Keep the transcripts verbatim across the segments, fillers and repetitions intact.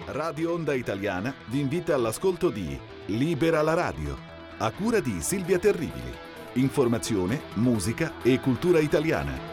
Radio Onda Italiana vi invita all'ascolto di Libera la radio, a cura di Silvia Terribili. Informazione, musica e cultura italiana.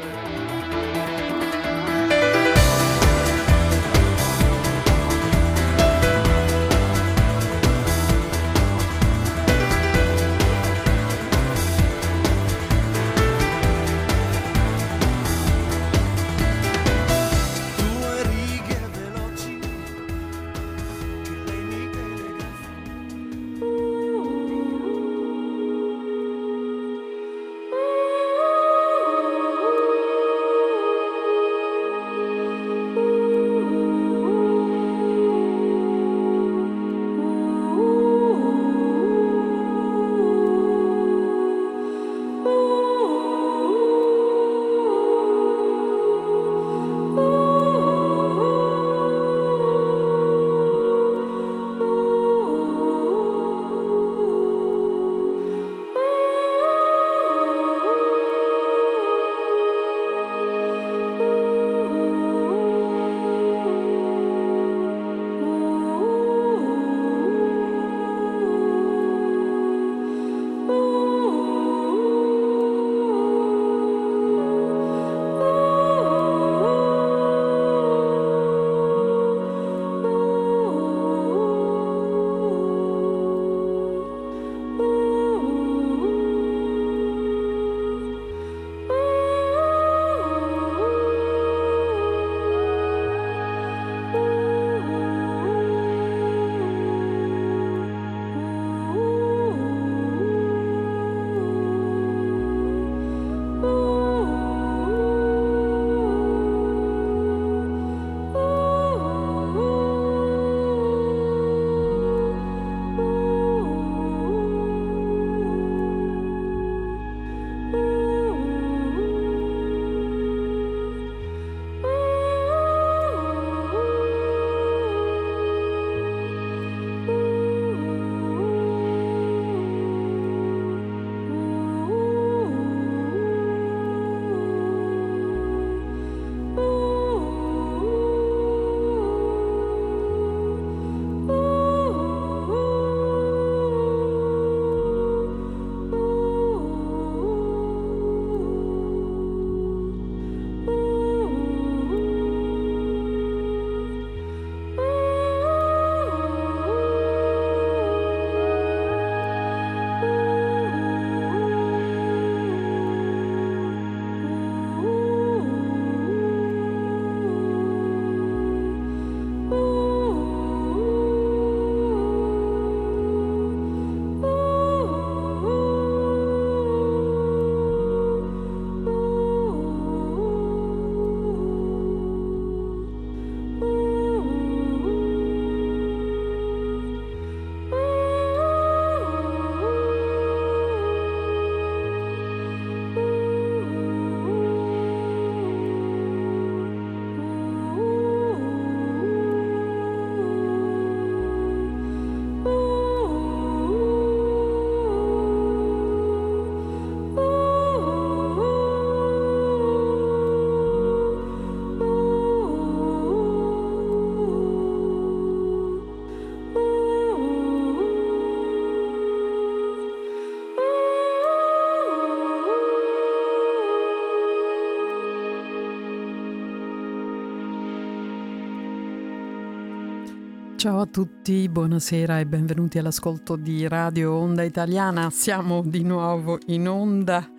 Ciao a tutti, buonasera e benvenuti all'ascolto di Radio Onda Italiana. Siamo di nuovo in onda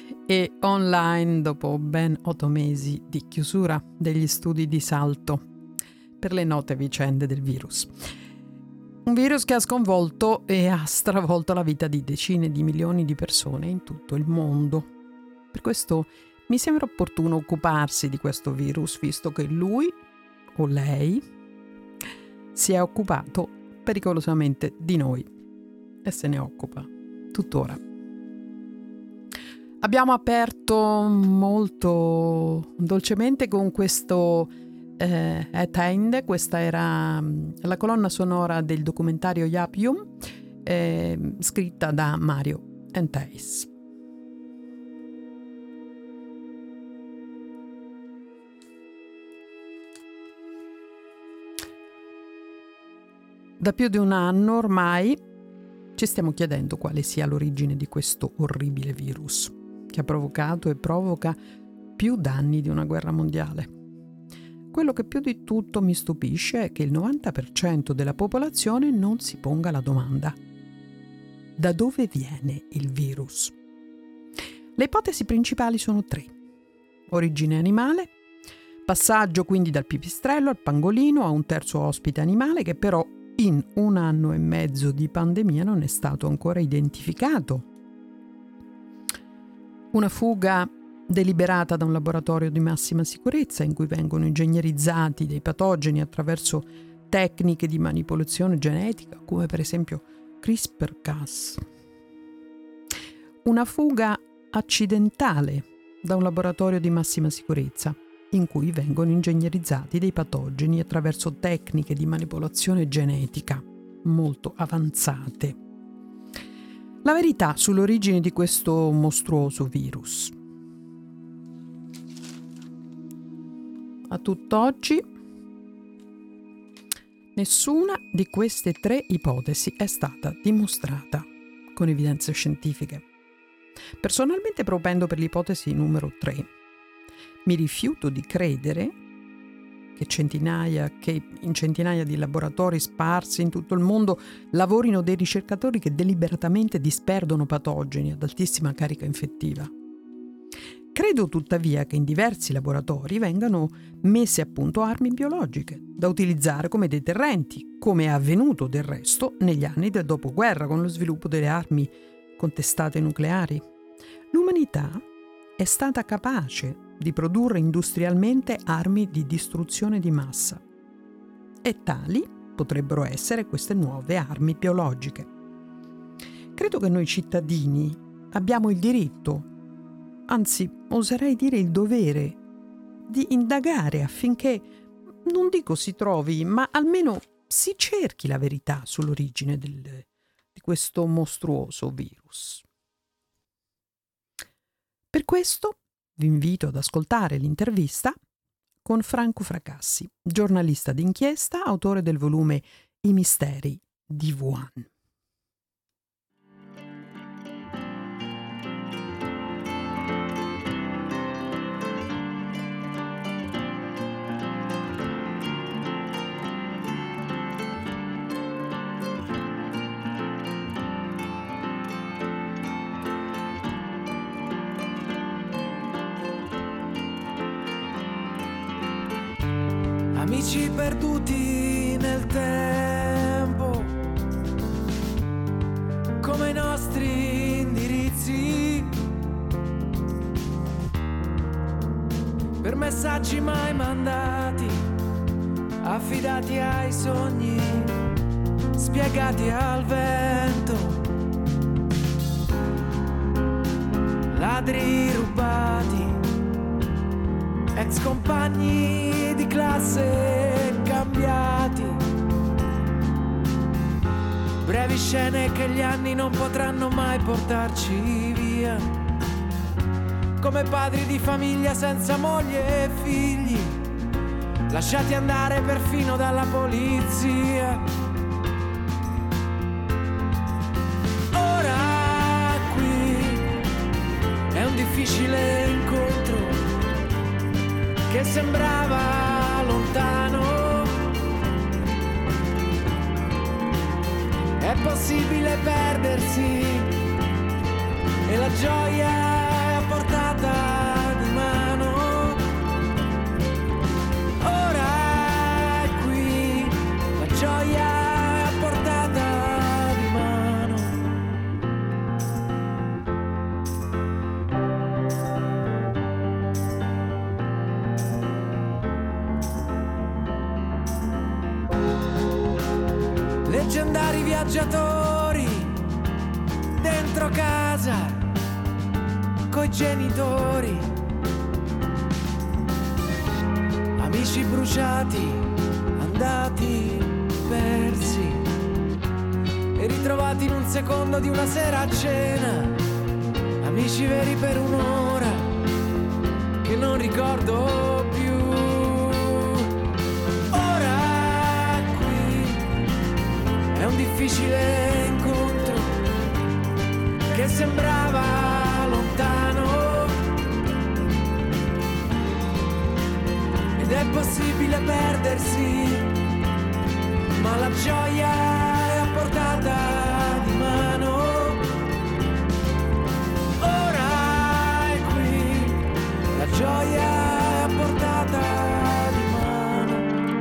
e online dopo ben otto mesi di chiusura degli studi di Salto per le note vicende del virus. Un virus che ha sconvolto e ha stravolto la vita di decine di milioni di persone in tutto il mondo. Per questo mi sembra opportuno occuparsi di questo virus, visto che lui o lei si è occupato pericolosamente di noi e se ne occupa tuttora. Abbiamo aperto molto dolcemente con questo eh, At End. Questa era la colonna sonora del documentario Yapium, eh, scritta da Mario Enteis. Da più di un anno ormai ci stiamo chiedendo quale sia l'origine di questo orribile virus che ha provocato e provoca più danni di una guerra mondiale. Quello che più di tutto mi stupisce è che il novanta per cento della popolazione non si ponga la domanda: da dove viene il virus? Le ipotesi principali sono tre: origine animale, passaggio quindi dal pipistrello al pangolino a un terzo ospite animale che però in un anno e mezzo di pandemia non è stato ancora identificato, una fuga deliberata da un laboratorio di massima sicurezza in cui vengono ingegnerizzati dei patogeni attraverso tecniche di manipolazione genetica come per esempio CRISPR Cas, una fuga accidentale da un laboratorio di massima sicurezza in cui vengono ingegnerizzati dei patogeni attraverso tecniche di manipolazione genetica molto avanzate. La verità sull'origine di questo mostruoso virus. A tutt'oggi, nessuna di queste tre ipotesi è stata dimostrata con evidenze scientifiche. Personalmente propendo per l'ipotesi numero tre. Mi rifiuto di credere che centinaia, che in centinaia di laboratori sparsi in tutto il mondo lavorino dei ricercatori che deliberatamente disperdono patogeni ad altissima carica infettiva. Credo tuttavia che in diversi laboratori vengano messe a punto armi biologiche da utilizzare come deterrenti, come è avvenuto del resto negli anni del dopoguerra con lo sviluppo delle armi con testate nucleari. L'umanità è stata capace di produrre industrialmente armi di distruzione di massa e tali potrebbero essere queste nuove armi biologiche. Credo che noi cittadini abbiamo il diritto, anzi oserei dire il dovere, di indagare affinché, non dico si trovi, ma almeno si cerchi la verità sull'origine del, di questo mostruoso virus. Per questo vi invito ad ascoltare l'intervista con Franco Fracassi, giornalista d'inchiesta, autore del volume I misteri di Wuhan. Amici perduti nel tempo, come i nostri indirizzi, per messaggi mai mandati, affidati ai sogni, spiegati al vento, ladri rubati, ex compagni di classe cambiati, brevi scene che gli anni non potranno mai portarci via, come padri di famiglia senza moglie e figli, lasciati andare perfino dalla polizia. Ora qui è un difficile incontro che sembrava lontano, è possibile perdersi e la gioia è a portata di mano. Ora è qui, la gioia è a portata di mano. Leggendari viaggiatori dentro casa coi genitori, amici bruciati, andati persi e ritrovati in un secondo di una sera a cena, amici veri per un'ora che non ricordo più. Ora qui difficile incontro che sembrava lontano, ed è possibile perdersi, ma la gioia è a portata di mano. Ora è qui, la gioia è a portata di mano.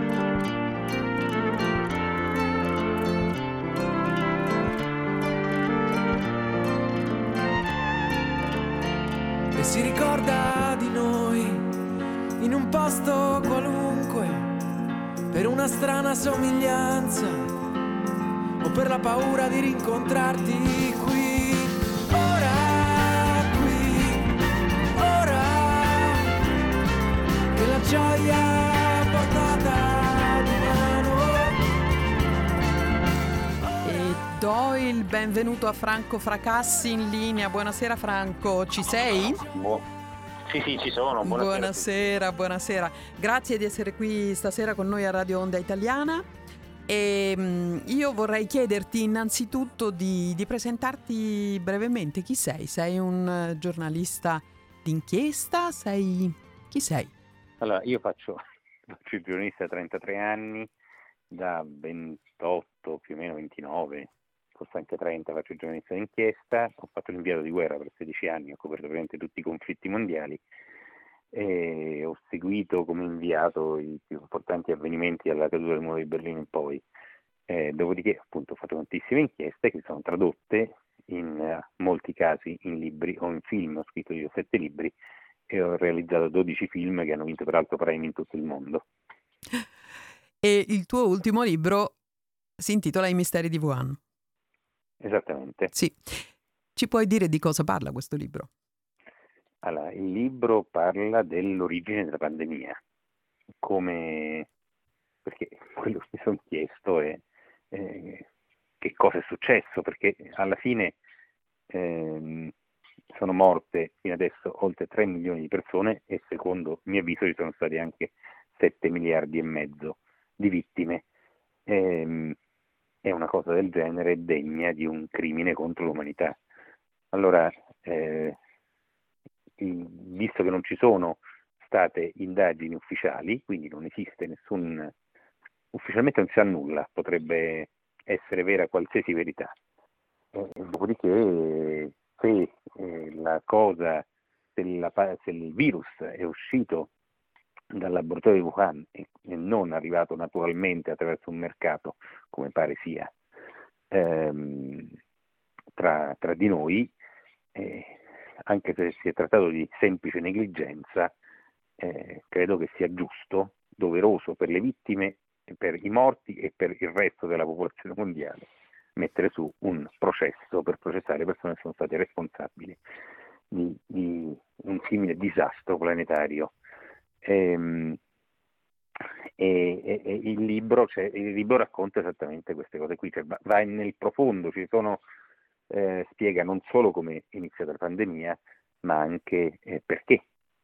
E si ricorda di noi in un posto qualunque, per una strana somiglianza o per la paura di rincontrarti qui. Ora qui, ora che la gioia è a portata di mano. E do il benvenuto a Franco Fracassi in linea. Buonasera Franco, ci sei? Buo- Sì, sì, ci sono. Buonasera. Buonasera, buonasera. Grazie di essere qui stasera con noi a Radio Onda Italiana. E mh, io vorrei chiederti innanzitutto di, di presentarti brevemente. Chi sei? Sei un eh, giornalista d'inchiesta? Sei... Chi sei? Allora, io faccio, faccio il giornalista da trentatré anni, da ventotto, più o meno ventinove, forse anche trenta, faccio il giornalista d'inchiesta. Ho fatto l'inviato di guerra per sedici anni, ho coperto praticamente tutti i conflitti mondiali e ho seguito come inviato i più importanti avvenimenti dalla caduta del muro di Berlino in poi. Eh, dopodiché appunto ho fatto tantissime inchieste che sono tradotte in uh, molti casi in libri o in film. Ho scritto diciassette libri e ho realizzato dodici film che hanno vinto peraltro premi in tutto il mondo. E il tuo ultimo libro si intitola I misteri di Wuhan. Esattamente. Sì. Ci puoi dire di cosa parla questo libro? Allora, il libro parla dell'origine della pandemia, come, perché quello che mi sono chiesto è eh, che cosa è successo, perché alla fine ehm, sono morte fino adesso oltre tre milioni di persone e secondo il mio avviso ci sono stati anche sette miliardi e mezzo di vittime. Ehm, è una cosa del genere degna di un crimine contro l'umanità. Allora, eh, visto che non ci sono state indagini ufficiali, quindi non esiste nessun, ufficialmente non si sa nulla, potrebbe essere vera qualsiasi verità. Eh, dopodiché, se eh, la cosa, se, la, se il virus è uscito dal laboratorio di Wuhan e, e non arrivato naturalmente attraverso un mercato, come pare sia, ehm, tra, tra di noi, eh, anche se si è trattato di semplice negligenza, eh, credo che sia giusto, doveroso per le vittime, per i morti e per il resto della popolazione mondiale mettere su un processo per processare le persone che sono state responsabili di, di un simile disastro planetario. Ehm, E, e, e il libro, cioè, il libro racconta esattamente queste cose qui, cioè va, va nel profondo, ci sono, eh, spiega non solo come è iniziata la pandemia, ma anche eh, perché.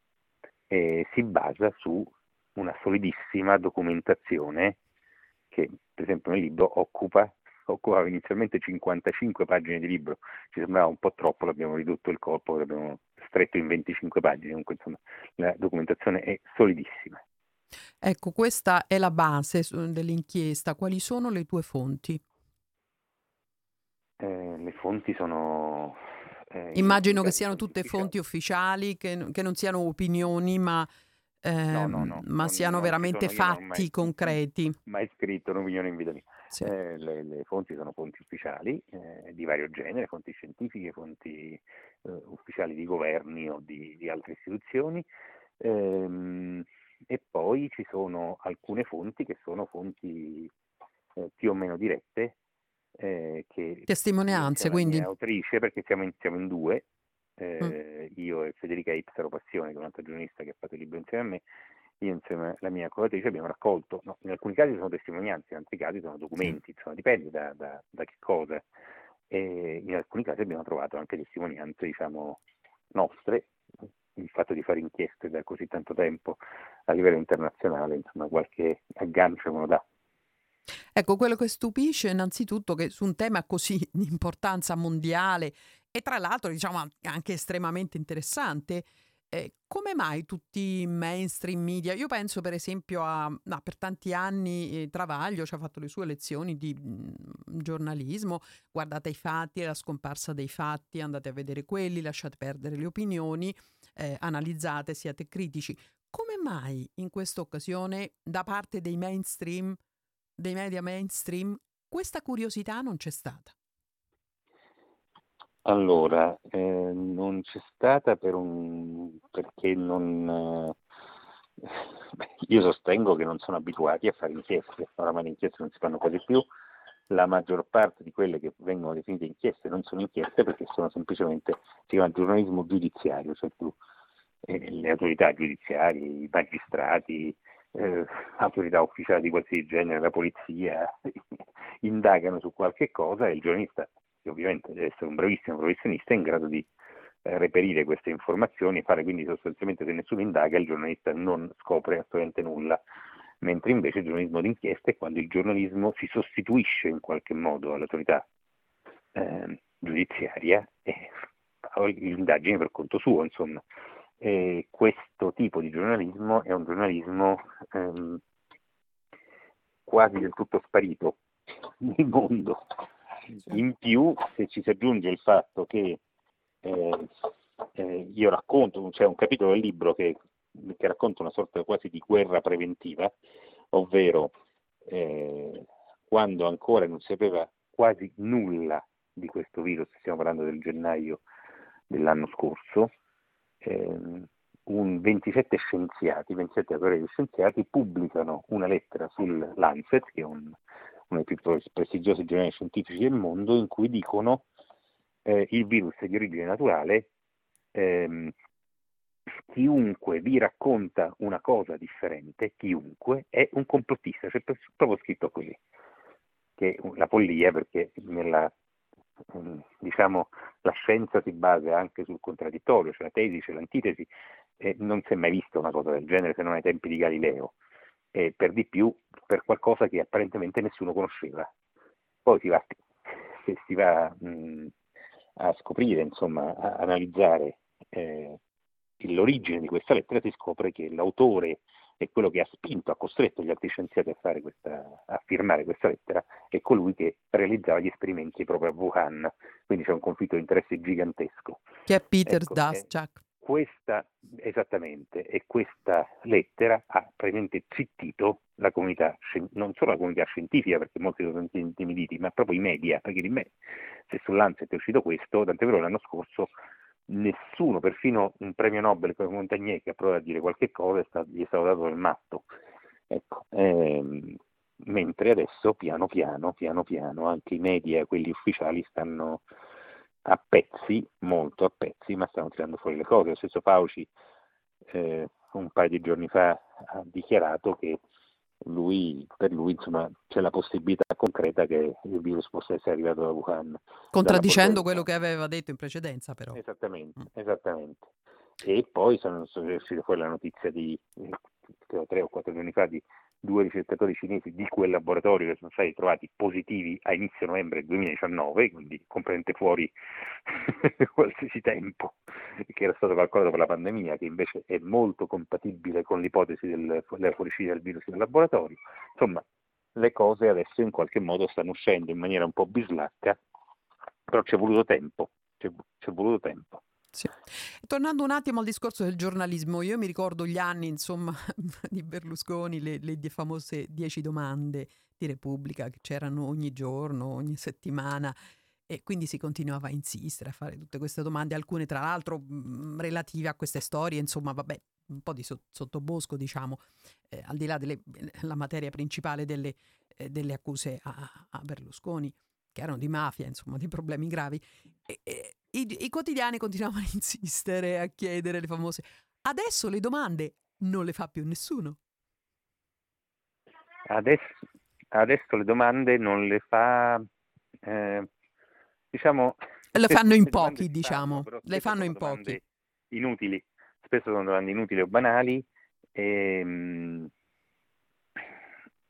E si basa su una solidissima documentazione che, per esempio, nel libro occupa occupava inizialmente cinquantacinque pagine di libro, ci sembrava un po' troppo, l'abbiamo ridotto il corpo, l'abbiamo stretto in venticinque pagine, comunque insomma la documentazione è solidissima. Ecco, questa è la base dell'inchiesta. Quali sono le tue fonti? Eh, le fonti sono... Eh, Immagino che siano fonti tutte ufficiali. fonti ufficiali, che, che non siano opinioni, ma, eh, No, no, no, ma non, siano non veramente ci sono, io non ho fatti mai, concreti. mai scritto un'opinione in vita mia. Sì. Eh, le, le fonti sono fonti ufficiali eh, di vario genere, fonti scientifiche, fonti eh, ufficiali di governi o di, di altre istituzioni, ehm, e poi ci sono alcune fonti che sono fonti eh, più o meno dirette, eh, che Testimonianze, io, la quindi. mia autrice, perché siamo in, siamo in due, Mm. eh, io e Federica Ipsaro Passione, che è un'altra giornalista che ha fatto il libro insieme a me. Io insieme alla mia collaboratrice abbiamo raccolto, no, in alcuni casi sono testimonianze, in altri casi sono documenti, insomma dipende da, da, da che cosa, e in alcuni casi abbiamo trovato anche testimonianze, diciamo, nostre. Il fatto di fare inchieste da così tanto tempo a livello internazionale, insomma qualche aggancio me lo dà. Ecco, quello che stupisce innanzitutto che su un tema così di importanza mondiale e tra l'altro diciamo an- anche estremamente interessante, eh, come mai tutti i mainstream media? Io penso per esempio a, no, per tanti anni eh, Travaglio ci ha fatto le sue lezioni di mm, giornalismo, guardate i fatti, la scomparsa dei fatti, andate a vedere quelli, lasciate perdere le opinioni, eh, analizzate, siate critici. Come mai in questa occasione da parte dei mainstream dei media mainstream, questa curiosità non c'è stata? Allora, eh, non c'è stata per un, perché non... eh, beh, io sostengo che non sono abituati a fare inchieste, oramai le inchieste non si fanno quasi più, la maggior parte di quelle che vengono definite inchieste non sono inchieste perché sono semplicemente, si chiama giornalismo giudiziario, cioè tu, eh, le autorità giudiziarie, i magistrati, eh, autorità ufficiali di qualsiasi genere, la polizia, indagano su qualche cosa e il giornalista, che ovviamente deve essere un bravissimo professionista, è in grado di eh, reperire queste informazioni e fare quindi sostanzialmente se nessuno indaga il giornalista non scopre assolutamente nulla, mentre invece il giornalismo d'inchiesta è quando il giornalismo si sostituisce in qualche modo all'autorità eh, giudiziaria e fa l'indagine per conto suo, insomma. E questo tipo di giornalismo è un giornalismo ehm, quasi del tutto sparito nel mondo. In più, se ci si aggiunge il fatto che eh, eh, io racconto, c'è un capitolo del libro che, che racconta una sorta quasi di guerra preventiva, ovvero eh, quando ancora non si sapeva quasi nulla di questo virus, stiamo parlando del gennaio dell'anno scorso, ehm, un ventisette scienziati, ventisette autori di scienziati pubblicano una lettera sul Lancet, che è un, uno dei più prestigiosi giornali scientifici del mondo, in cui dicono eh, il virus è di origine naturale, ehm, chiunque vi racconta una cosa differente, chiunque, è un complottista, c'è proprio scritto così, che è la follia perché nella diciamo la scienza si basa anche sul contraddittorio, c'è la tesi, c'è l'antitesi, e non si è mai vista una cosa del genere se non ai tempi di Galileo, e per di più per qualcosa che apparentemente nessuno conosceva. Poi si va, se si va mh, a scoprire, insomma, a analizzare eh, l'origine di questa lettera, si scopre che l'autore e quello che ha spinto, ha costretto gli altri scienziati a, fare questa, a firmare questa lettera è colui che realizzava gli esperimenti proprio a Wuhan, quindi c'è un conflitto di interesse gigantesco. Che è Peter Ecco, Daszak. Eh, questa, esattamente, e questa lettera ha praticamente zittito la comunità, non solo la comunità scientifica, perché molti sono intimiditi, ma proprio i media, perché di me, se sull'Lancet è uscito questo, tant'è vero l'anno scorso nessuno, perfino un premio Nobel come Montagnier che ha provato a dire qualche cosa, è stato, gli è stato dato nel matto. Ecco, ehm, mentre adesso piano piano, piano piano, anche i media, quelli ufficiali, stanno a pezzi, molto a pezzi, ma stanno tirando fuori le cose. Lo stesso Fauci eh, un paio di giorni fa ha dichiarato che lui, per lui insomma, c'è la possibilità concreta che il virus possa essere arrivato da Wuhan. Contraddicendo quello che aveva detto in precedenza, però. Esattamente, Mm. esattamente. E poi sono, sono uscite fuori la notizia di eh, tre o quattro giorni fa di due ricercatori cinesi di quel laboratorio che sono stati trovati positivi a inizio novembre duemiladiciannove, quindi comprende fuori qualsiasi tempo, che era stato calcolato per la pandemia, che invece è molto compatibile con l'ipotesi del, della fuoriuscita del virus nel laboratorio. Insomma, le cose adesso in qualche modo stanno uscendo in maniera un po' bislacca, però ci è voluto tempo, ci è voluto tempo. Sì. Tornando un attimo al discorso del giornalismo, io mi ricordo gli anni, insomma, di Berlusconi, le, le famose dieci domande di Repubblica che c'erano ogni giorno, ogni settimana, e quindi si continuava a insistere a fare tutte queste domande, alcune tra l'altro mh, relative a queste storie, insomma, vabbè, un po' di so- sottobosco, diciamo, eh, al di là della materia principale delle, eh, delle accuse a, a Berlusconi, che erano di mafia, insomma, di problemi gravi. E, e, i, i quotidiani continuavano a insistere, a chiedere le famose. Adesso le domande non le fa più nessuno. Adesso, adesso le domande non le fa, eh, diciamo... Le fanno in le pochi, diciamo. fanno, le fanno sono in pochi. Inutili, spesso sono domande inutili o banali. E,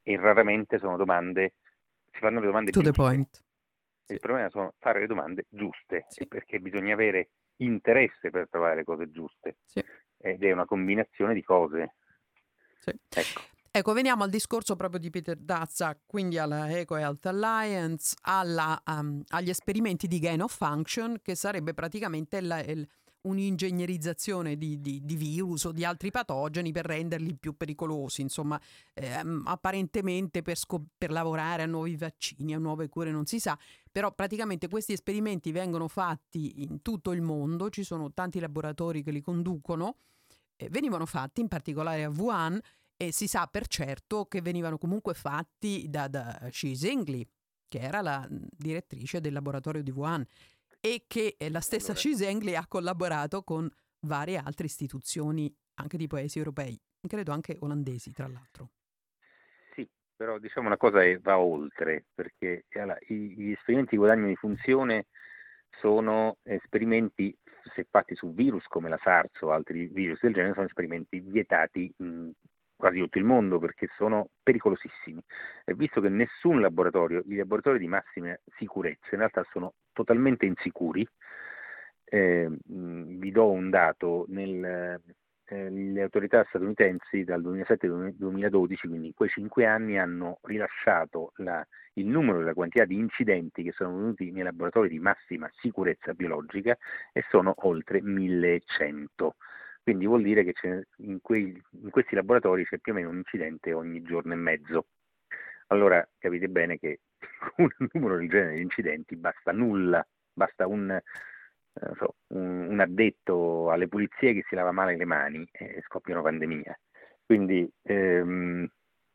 e raramente sono domande, si fanno le domande To the giuste. point. Il problema sono fare le domande giuste, Sì. perché bisogna avere interesse per trovare le cose giuste, Sì. ed è una combinazione di cose. Sì. Ecco. Ecco, veniamo al discorso proprio di Peter Daszak, quindi alla Eco Health Alliance, alla, um, agli esperimenti di gain of function, che sarebbe praticamente la, il, un'ingegnerizzazione di, di, di virus o di altri patogeni per renderli più pericolosi, insomma, ehm, apparentemente per, scop- per lavorare a nuovi vaccini, a nuove cure, non si sa, però praticamente questi esperimenti vengono fatti in tutto il mondo, ci sono tanti laboratori che li conducono, eh, venivano fatti in particolare a Wuhan, e si sa per certo che venivano comunque fatti da, da Xi Zhengli, che era la direttrice del laboratorio di Wuhan, e che la stessa Allora. Xi Zhengli ha collaborato con varie altre istituzioni anche di paesi europei, credo anche olandesi tra l'altro. Sì, però diciamo una cosa che va oltre, perché allora, i, gli esperimenti di guadagno di funzione sono esperimenti, se fatti su virus come la SARS o altri virus del genere, sono esperimenti vietati in quasi tutto il mondo perché sono pericolosissimi. E visto che nessun laboratorio, i laboratori di massima sicurezza in realtà sono totalmente insicuri, eh, vi do un dato, nel, eh, le autorità statunitensi dal duemilasette al duemiladodici, quindi in quei cinque anni, hanno rilasciato la, il numero e la quantità di incidenti che sono venuti nei laboratori di massima sicurezza biologica, e sono oltre millecento. Quindi vuol dire che c'è, in, quei, in questi laboratori c'è più o meno un incidente ogni giorno e mezzo. Allora capite bene che con un numero del genere di incidenti basta nulla, basta un, eh, so, un, un addetto alle pulizie che si lava male le mani e scoppia una pandemia. Quindi ehm,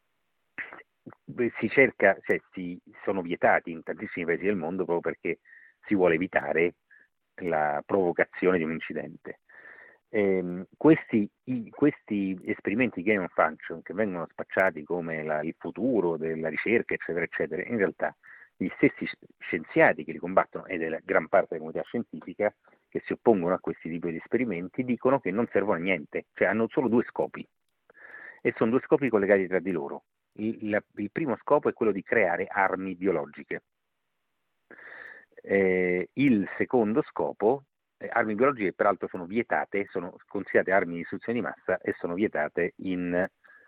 si cerca, cioè si sono vietati in tantissimi paesi del mondo proprio perché si vuole evitare la provocazione di un incidente. Eh, questi, i, questi esperimenti gain of function, che vengono spacciati come la, il futuro della ricerca, eccetera, eccetera, in realtà gli stessi scienziati che li combattono, e della gran parte della comunità scientifica che si oppongono a questi tipi di esperimenti, dicono che non servono a niente, cioè hanno solo due scopi, e sono due scopi collegati tra di loro. Il, la, il primo scopo è quello di creare armi biologiche. Eh, il secondo scopo, eh, armi biologiche peraltro sono vietate, sono considerate armi di distruzione di massa e sono vietate in,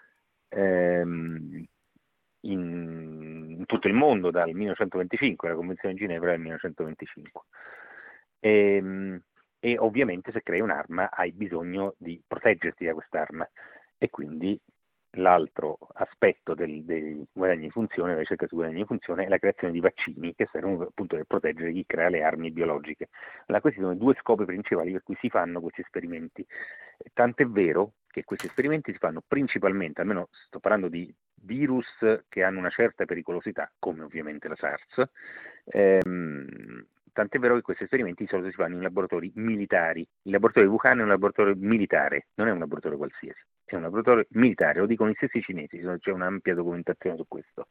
ehm, in, in tutto il mondo dal millenovecentoventicinque, la Convenzione di Ginevra del millenovecentoventicinque. E, e ovviamente se crei un'arma hai bisogno di proteggerti da quest'arma, e quindi l'altro aspetto del, dei guadagni di funzione, della ricerca su guadagni di funzione, è la creazione di vaccini che servono appunto per proteggere chi crea le armi biologiche. Allora, questi sono i due scopi principali per cui si fanno questi esperimenti. Tant'è vero che questi esperimenti si fanno principalmente, almeno sto parlando di virus che hanno una certa pericolosità, come ovviamente la SARS, ehm, tant'è vero che questi esperimenti di solito si fanno in laboratori militari. Il laboratorio di Wuhan è un laboratorio militare, non è un laboratorio qualsiasi, è un laboratorio militare, lo dicono i stessi cinesi, c'è un'ampia documentazione su questo.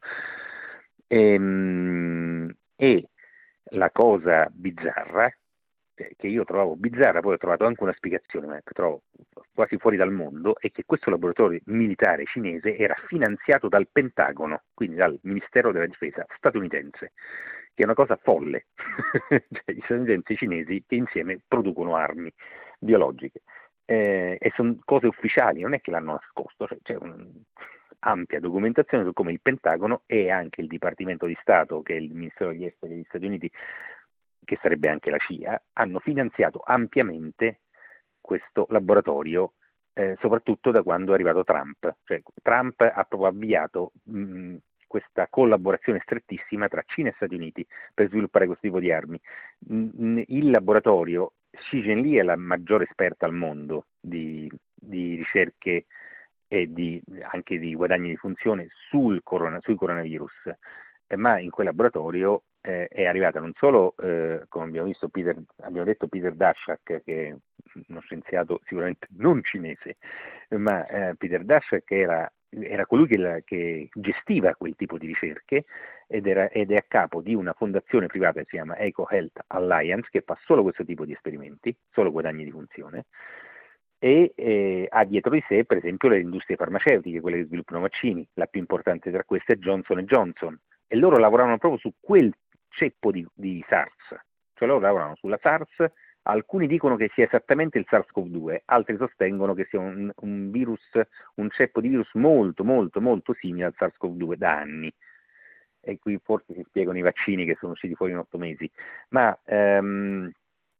Ehm, e la cosa bizzarra, che io trovavo bizzarra, poi ho trovato anche una spiegazione, ma che trovo quasi fuori dal mondo, è che questo laboratorio militare cinese era finanziato dal Pentagono, quindi dal Ministero della Difesa statunitense, che è una cosa folle. Cioè, gli statunitensi e i cinesi che insieme producono armi biologiche, eh, e sono cose ufficiali, non è che l'hanno nascosto, cioè, c'è un'ampia documentazione su come il Pentagono e anche il Dipartimento di Stato, che è il Ministero degli Esteri degli Stati Uniti, che sarebbe anche la C I A, hanno finanziato ampiamente questo laboratorio, eh, soprattutto da quando è arrivato Trump. Cioè, Trump ha proprio avviato mh, questa collaborazione strettissima tra Cina e Stati Uniti per sviluppare questo tipo di armi. Mh, il laboratorio, Xi Zhengli è la maggiore esperta al mondo di, di ricerche e di, anche di guadagni di funzione sul corona, sui coronavirus, eh, ma in quel laboratorio eh, è arrivata non solo, eh, come abbiamo visto, Peter, abbiamo detto Peter Daszak, che è uno scienziato sicuramente non cinese, ma eh, Peter Daszak era, era colui che, la, che gestiva quel tipo di ricerche, ed, era, ed è a capo di una fondazione privata che si chiama Eco Health Alliance, che fa solo questo tipo di esperimenti, solo guadagni di funzione. e eh, ha dietro di sé per esempio le industrie farmaceutiche, quelle che sviluppano vaccini, la più importante tra queste è Johnson and Johnson, e loro lavoravano proprio su quel ceppo di, di SARS, cioè loro lavoravano sulla SARS. Alcuni dicono che sia esattamente il SARS-CoV due, altri sostengono che sia un, un virus, un ceppo di virus molto molto molto simile al SARS-CoV due da anni, e qui forse si spiegano i vaccini che sono usciti fuori in otto mesi, ma ehm,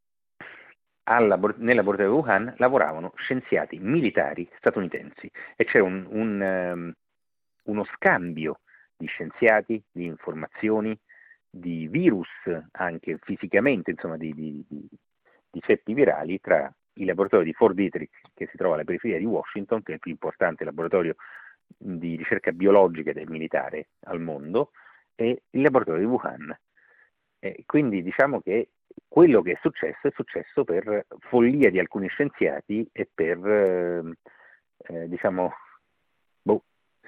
al labor- nel laboratorio di Wuhan lavoravano scienziati militari statunitensi e c'era un, un, ehm, uno scambio di scienziati, di informazioni, di virus anche fisicamente, insomma di, di, di, di ceppi virali tra il laboratorio di Fort Detrick, che si trova alla periferia di Washington, che è il più importante laboratorio di ricerca biologica del militare al mondo, e il laboratorio di Wuhan. E quindi diciamo che quello che è successo è successo per follia di alcuni scienziati e per eh, eh, diciamo boh,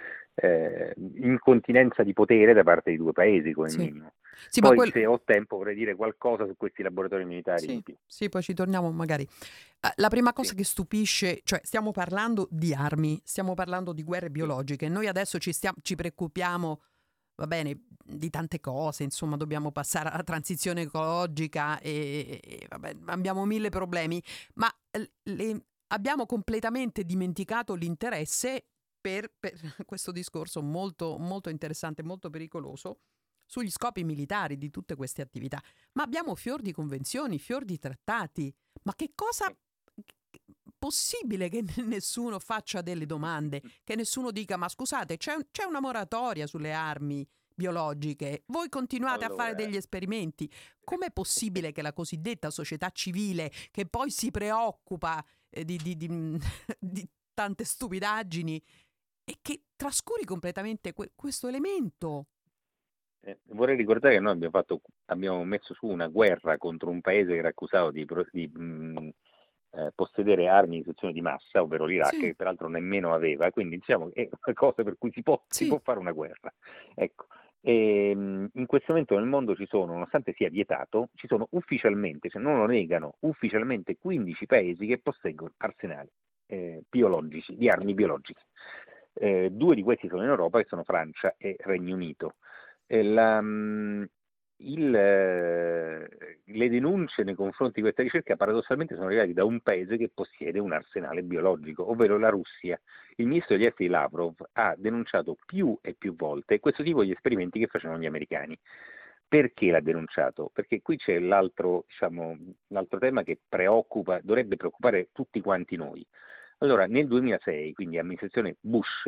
eh, incontinenza di potere da parte di due paesi come Sì. minimo. Sì, ma Poi quel- se ho tempo vorrei dire qualcosa su questi laboratori militari in Sì, più. sì, poi ci torniamo magari. Eh, La prima cosa Sì. che stupisce, cioè stiamo parlando di armi, stiamo parlando di guerre Sì. biologiche. Noi adesso ci, stiamo, ci preoccupiamo, va bene, di tante cose, insomma, dobbiamo passare alla transizione ecologica e, e- vabbè, abbiamo mille problemi, ma eh, le- abbiamo completamente dimenticato l'interesse per, per questo discorso molto, molto interessante, molto pericoloso sugli scopi militari di tutte queste attività. Ma abbiamo fior di convenzioni, fior di trattati. Ma che cosa possibile che nessuno faccia delle domande, che nessuno dica ma scusate, c'è, c'è una moratoria sulle armi biologiche, voi continuate Allora, a fare degli esperimenti. Com'è possibile che la cosiddetta società civile, che poi si preoccupa eh, di, di, di, di tante stupidaggini, e che trascuri completamente que- questo elemento? Eh, vorrei ricordare che noi abbiamo, fatto, abbiamo messo su una guerra contro un paese che era accusato di, pro- di mh, eh, possedere armi di distruzione di massa, ovvero l'Iraq, Sì, che peraltro nemmeno aveva, quindi diciamo che è una cosa per cui si può, si sì. può fare una guerra. Ecco. E, mh, in questo momento nel mondo ci sono, nonostante sia vietato, ci sono ufficialmente, se non lo negano, ufficialmente quindici paesi che posseggono arsenali eh, biologici, di armi biologiche. Eh, due di questi sono in Europa, che sono Francia e Regno Unito. La, il, eh, le denunce nei confronti di questa ricerca paradossalmente sono arrivate da un paese che possiede un arsenale biologico, ovvero la Russia. Il ministro degli esteri Lavrov ha denunciato più e più volte questo tipo di esperimenti che facevano gli americani. Perché l'ha denunciato? Perché qui c'è l'altro, diciamo, l'altro tema che preoccupa, dovrebbe preoccupare tutti quanti noi. Allora, nel duemilasei, quindi amministrazione Bush,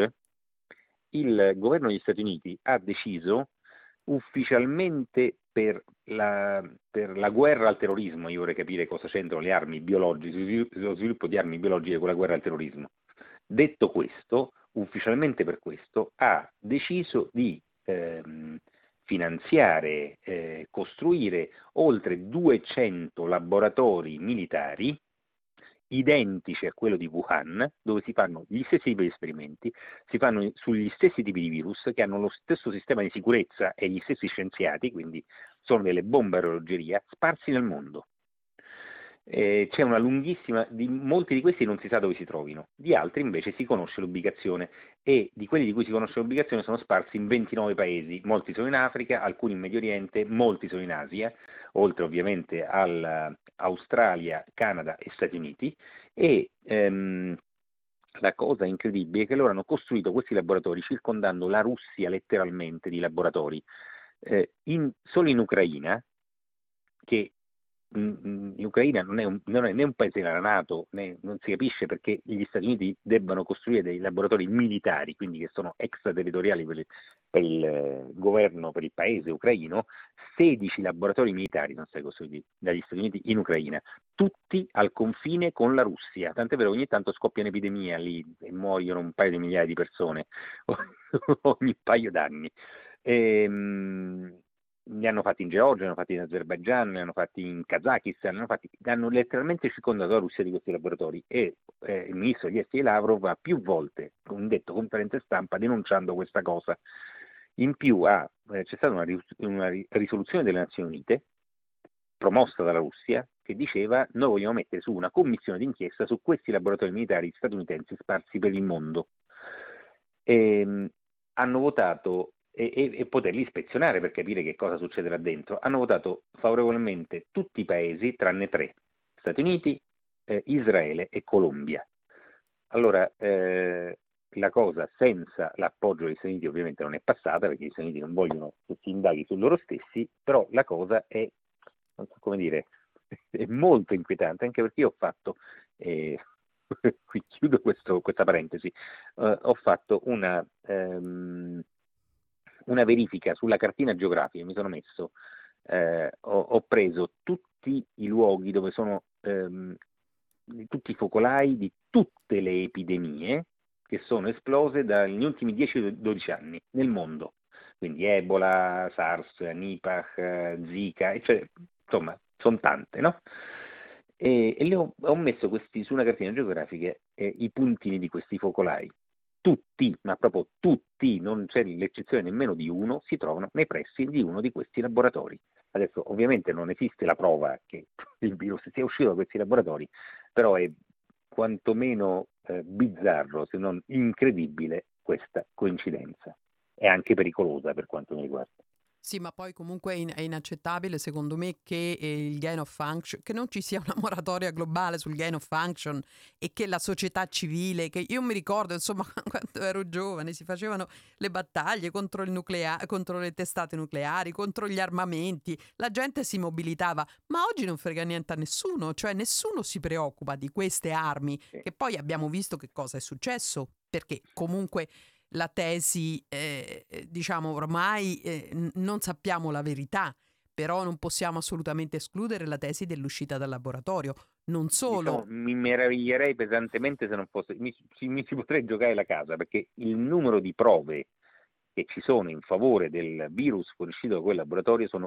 il governo degli Stati Uniti ha deciso ufficialmente per la, per la guerra al terrorismo, io vorrei capire cosa c'entrano le armi biologiche, lo sviluppo di armi biologiche con la guerra al terrorismo. Detto questo, ufficialmente per questo, ha deciso di ehm, finanziare, eh, costruire oltre duecento laboratori militari identici a quello di Wuhan, dove si fanno gli stessi tipi di esperimenti, si fanno sugli stessi tipi di virus che hanno lo stesso sistema di sicurezza e gli stessi scienziati, quindi sono delle bombe a orologeria sparsi nel mondo. Eh, c'è una lunghissima, di molti di questi non si sa dove si trovino, di altri invece si conosce l'ubicazione, e di quelli di cui si conosce l'ubicazione sono sparsi in ventinove paesi, molti sono in Africa, alcuni in Medio Oriente, molti sono in Asia, oltre ovviamente all'Australia, Canada e Stati Uniti, e ehm, la cosa incredibile è che loro hanno costruito questi laboratori circondando la Russia letteralmente di laboratori. Eh, in, solo in Ucraina, che l'Ucraina non è, un, non è né un paese della NATO, né, non si capisce perché gli Stati Uniti debbano costruire dei laboratori militari, quindi che sono extraterritoriali per il, per il eh, governo, per il paese ucraino. sedici laboratori militari sono stati costruiti dagli Stati Uniti in Ucraina, tutti al confine con la Russia, tant'è vero che ogni tanto scoppia un'epidemia lì e muoiono un paio di migliaia di persone ogni paio d'anni. E, mh, li hanno fatti in Georgia, li hanno fatti in Azerbaigian, li hanno fatti in Kazakistan, li hanno, fatti, hanno letteralmente circondato la Russia di questi laboratori, e eh, il ministro degli esteri Lavrov ha più volte detto conferenze stampa denunciando questa cosa. In più ha, eh, c'è stata una, una risoluzione delle Nazioni Unite promossa dalla Russia che diceva: noi vogliamo mettere su una commissione d'inchiesta su questi laboratori militari statunitensi sparsi per il mondo. E, hanno votato, e, e, e poterli ispezionare per capire che cosa succede là dentro. Hanno votato favorevolmente tutti i paesi tranne tre: Stati Uniti, eh, Israele e Colombia. Allora, eh, la cosa senza l'appoggio degli Stati Uniti ovviamente non è passata, perché gli Stati Uniti non vogliono che si indaghi su loro stessi, però la cosa è, non so come dire, è molto inquietante, anche perché io ho fatto, eh, qui chiudo questo, questa parentesi, eh, ho fatto una, um, una verifica sulla cartina geografica, mi sono messo, eh, ho, ho preso tutti i luoghi dove sono, um, tutti i focolai di tutte le epidemie che sono esplose dagli ultimi dieci dodici anni nel mondo, quindi Ebola, SARS, Nipah, Zika, cioè, insomma, sono tante, no? E, e le ho, ho messo questi su una cartina geografica eh, i puntini di questi focolai. Tutti, ma proprio tutti, non c'è l'eccezione nemmeno di uno, si trovano nei pressi di uno di questi laboratori. Adesso ovviamente non esiste la prova che il virus sia uscito da questi laboratori, però è quantomeno eh, bizzarro, se non incredibile, questa coincidenza. È anche pericolosa per quanto mi riguarda. Sì, ma poi comunque è, in- è inaccettabile secondo me che eh, il gain of function, che non ci sia una moratoria globale sul gain of function e che la società civile, che io mi ricordo insomma quando ero giovane si facevano le battaglie contro il nuclea- contro le testate nucleari, contro gli armamenti, la gente si mobilitava, ma oggi non frega niente a nessuno, cioè nessuno si preoccupa di queste armi, Sì. che poi abbiamo visto che cosa è successo, perché comunque la tesi, eh, diciamo ormai eh, n- non sappiamo la verità, però non possiamo assolutamente escludere la tesi dell'uscita dal laboratorio. Non solo. Diciamo, mi meraviglierei pesantemente se non fosse, mi, ci- mi ci potrei giocare la casa, perché il numero di prove che ci sono in favore del virus fuoriuscito da quel laboratorio sono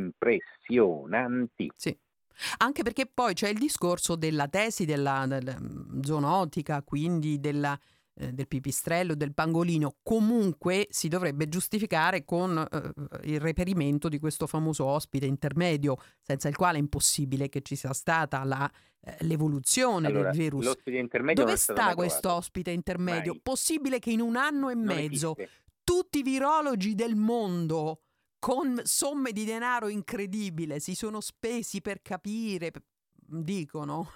impressionanti. Sì. Anche perché poi c'è il discorso della tesi della, della mm, zoonotica, quindi della, eh, del pipistrello, del pangolino. Comunque si dovrebbe giustificare con eh, il reperimento di questo famoso ospite intermedio, senza il quale è impossibile che ci sia stata la, eh, l'evoluzione Allora, del virus. l'ospite intermedio Dove non è stato sta mai questo trovato. ospite intermedio? Mai. Possibile che in un anno e Non mezzo esiste. tutti i virologi del mondo con somme di denaro incredibile si sono spesi per capire, p- dicono,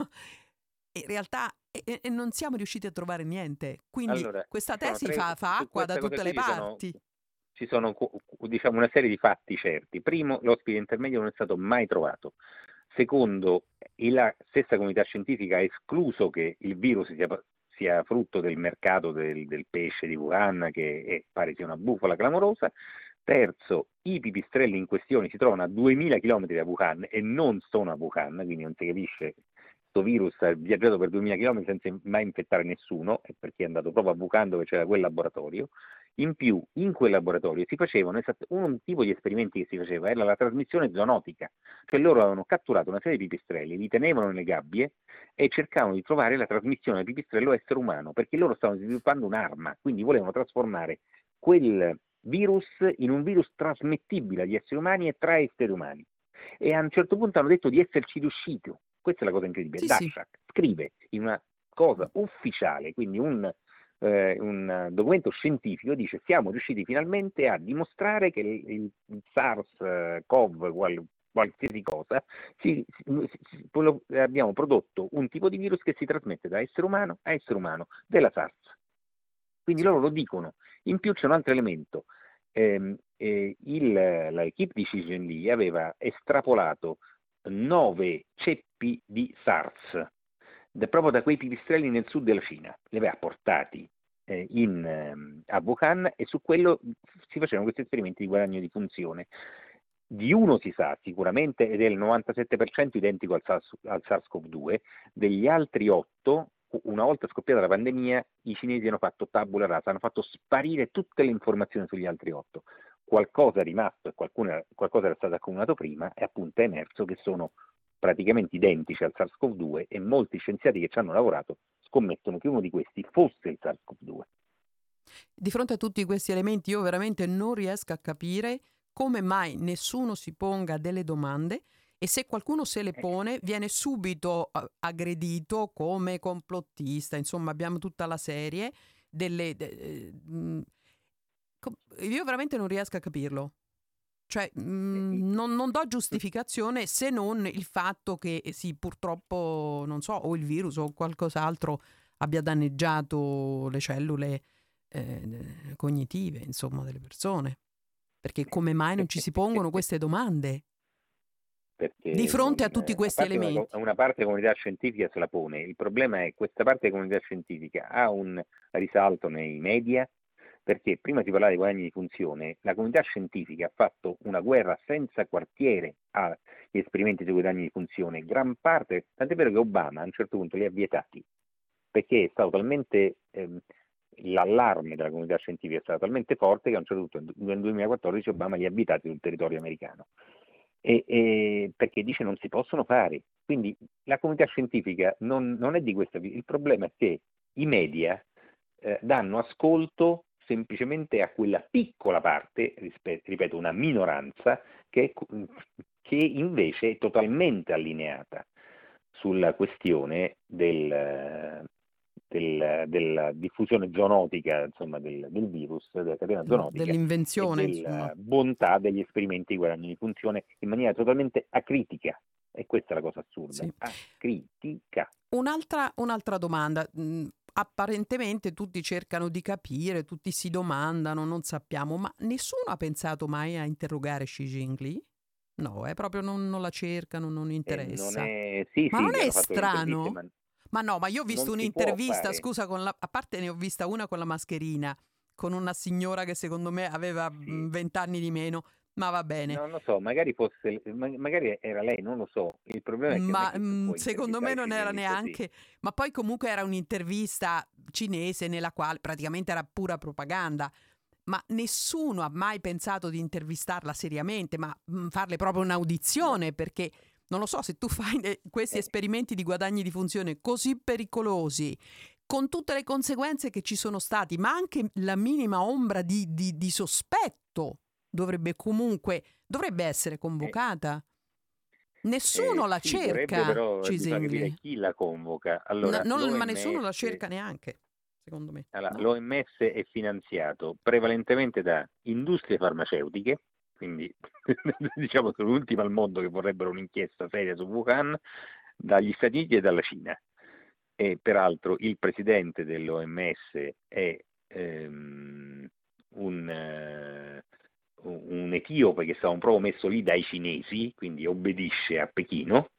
in realtà e, e non siamo riusciti a trovare niente. Quindi Allora, questa ci sono tesi tre, fa, fa su acqua da questa cosa tutte qui le ci sono, parti. ci sono diciamo, una serie di fatti certi. Primo, l'ospite intermedio non è stato mai trovato. Secondo, e la stessa comunità scientifica ha escluso che il virus sia, sia frutto del mercato del, del pesce di Wuhan, che è, pare sia una bufala clamorosa. Terzo, i pipistrelli in questione si trovano a duemila chilometri da Wuhan e non sono a Wuhan, quindi non si capisce. Questo virus ha viaggiato per duemila chilometri senza mai infettare nessuno, e perché è andato proprio a Wuhan dove c'era quel laboratorio. In più, in quel laboratorio si facevano esatt- un tipo di esperimenti che si faceva, era la trasmissione zoonotica, cioè loro avevano catturato una serie di pipistrelli, li tenevano nelle gabbie e cercavano di trovare la trasmissione del pipistrello essere umano, perché loro stavano sviluppando un'arma, quindi volevano trasformare quel virus in un virus trasmettibile agli esseri umani e tra esseri umani. E a un certo punto hanno detto di esserci riusciti. Questa è la cosa incredibile. Sì, sì. Daszak scrive in una cosa ufficiale, quindi un, eh, un documento scientifico, dice: siamo riusciti finalmente a dimostrare che il, il SARS-CoV, qual, qualsiasi cosa, si, si, si, abbiamo prodotto un tipo di virus che si trasmette da essere umano a essere umano, della SARS. Quindi loro lo dicono. In più c'è un altro elemento. Eh, eh, il, l'equipe di Xi Jinping aveva estrapolato nove ceppi di SARS da, proprio da quei pipistrelli nel sud della Cina, li aveva portati eh, in, eh, a Wuhan, e su quello si facevano questi esperimenti di guadagno di funzione. Di uno si sa sicuramente, ed è il novantasette per cento identico al, SARS, al SARS-CoV due, degli altri otto, una volta scoppiata la pandemia, i cinesi hanno fatto tabula rasa, hanno fatto sparire tutte le informazioni sugli altri otto. Qualcosa è rimasto e qualcuna, qualcosa era stato accumulato prima, e appunto è emerso che sono praticamente identici al SARS-CoV due, e molti scienziati che ci hanno lavorato scommettono che uno di questi fosse il SARS-CoV due. Di fronte a tutti questi elementi io veramente non riesco a capire come mai nessuno si ponga delle domande E se qualcuno se le pone, viene subito uh, aggredito come complottista. Insomma, abbiamo tutta la serie delle... De, mh, io veramente non riesco a capirlo. Cioè, mh, non, non do giustificazione se non il fatto che sì, purtroppo, non so, o il virus o qualcos'altro abbia danneggiato le cellule eh, cognitive, insomma, delle persone. Perché come mai non ci si pongono queste domande? Perché Di fronte non, a tutti a questi parte elementi. Una, una parte della comunità scientifica se la pone. Il problema è che questa parte della comunità scientifica ha un risalto nei media, perché prima si parlava di guadagni di funzione, la comunità scientifica ha fatto una guerra senza quartiere agli esperimenti sui guadagni di funzione, gran parte, tant'è vero che Obama a un certo punto li ha vietati, perché è stato talmente... Ehm, l'allarme della comunità scientifica è stato talmente forte che a un certo punto nel duemilaquattordici Obama li ha vietati sul territorio americano. E, e perché dice non si possono fare. Quindi la comunità scientifica non, non è di questa via. Il problema è che i media eh, danno ascolto semplicemente a quella piccola parte, ripeto, una minoranza, che, che invece è totalmente allineata sulla questione del, del, della diffusione zoonotica, insomma, del, del virus, della catena zoonotica, dell'invenzione, e della insomma. bontà degli esperimenti di guadagno di funzione in maniera totalmente acritica. E questa è la cosa assurda, Sì. acritica. Un'altra, un'altra domanda. Mm, apparentemente tutti cercano di capire, tutti si domandano, non sappiamo, ma nessuno ha pensato mai a interrogare Xi Jinping? No, è proprio non, non la cercano, non interessa. Non è... Sì, ma sì, non gli è hanno fatto le interviste, strano? ma... Ma no, ma io ho visto non un'intervista, fare. scusa, con la, a parte ne ho vista una con la mascherina, con una signora che secondo me aveva vent'anni di meno, ma va bene. Non lo so, magari fosse, magari era lei, non lo so. Il problema è che ma non è che mh, secondo me non era neanche, così. Ma poi comunque era un'intervista cinese nella quale praticamente era pura propaganda. Ma nessuno ha mai pensato di intervistarla seriamente, ma mh, farle proprio un'audizione, perché non lo so, se tu fai eh, questi Eh. esperimenti di guadagni di funzione così pericolosi, con tutte le conseguenze che ci sono stati, ma anche la minima ombra di, di, di sospetto dovrebbe comunque, dovrebbe essere convocata. Eh. Nessuno eh, la sì, cerca, però Xi bisogna capire Jinping. chi la convoca. Allora, No, non, l'O M S, ma nessuno la cerca neanche, secondo me. Allora, No? l'O M S è finanziato prevalentemente da industrie farmaceutiche, quindi diciamo sono l'ultima al mondo che vorrebbero un'inchiesta seria su Wuhan, dagli Stati Uniti e dalla Cina. E peraltro il presidente dell'O M S è ehm, un, eh, un etiope che è stato proprio messo lì dai cinesi, quindi obbedisce a Pechino.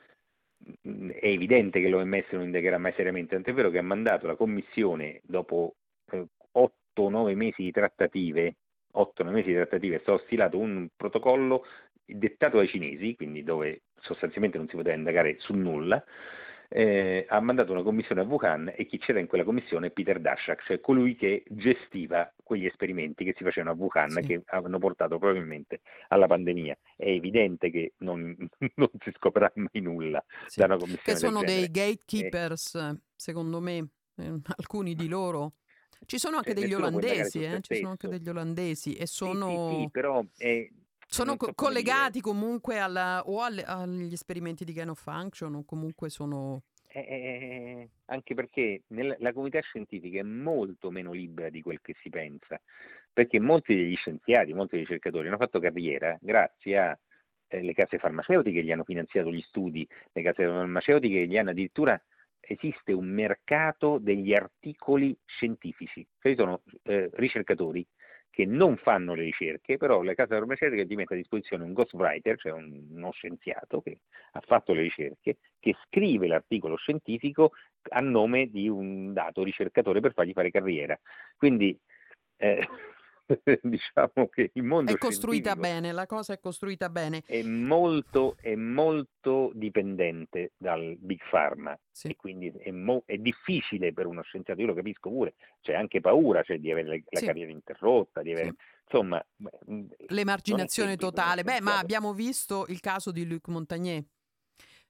È evidente che l'O M S non indagherà mai seriamente, tant'è vero che ha mandato la commissione dopo otto nove mesi di trattative, otto nove mesi di trattative, è stato stilato un protocollo dettato dai cinesi, quindi dove sostanzialmente non si poteva indagare su nulla. Eh, ha mandato una commissione a Wuhan e chi c'era in quella commissione è Peter Daszak, cioè colui che gestiva quegli esperimenti che si facevano a Wuhan, sì, che hanno portato probabilmente alla pandemia. È evidente che non, non si scoprirà mai nulla, sì, da una commissione che sono del dei genere. gatekeepers, eh. secondo me, eh, alcuni di loro. Ci sono anche cioè, degli olandesi, eh? Ci sono anche degli olandesi e sono... Sì, sì, sì, però è... sono so collegati comunque alla, o alle, agli esperimenti di gain of function o comunque sono... Eh, anche perché nella, la comunità scientifica è molto meno libera di quel che si pensa, perché molti degli scienziati, molti dei ricercatori hanno fatto carriera grazie a eh, le case farmaceutiche che gli hanno finanziato gli studi, le case farmaceutiche che gli hanno addirittura... esiste un mercato degli articoli scientifici, cioè sono eh, ricercatori che non fanno le ricerche, però le case farmaceutiche ti mettono a disposizione un ghostwriter, cioè un, uno scienziato che ha fatto le ricerche, che scrive l'articolo scientifico a nome di un dato ricercatore per fargli fare carriera. Quindi eh, diciamo che il mondo è costruita scientifico bene, la cosa è costruita bene. È molto, è molto dipendente dal Big Pharma, sì, e quindi è, mo- è difficile per uno scienziato, io lo capisco pure, c'è anche paura, cioè, di avere la sì. carriera interrotta, di avere, sì. insomma... L'emarginazione totale. Beh, ma abbiamo visto il caso di Luc Montagnier.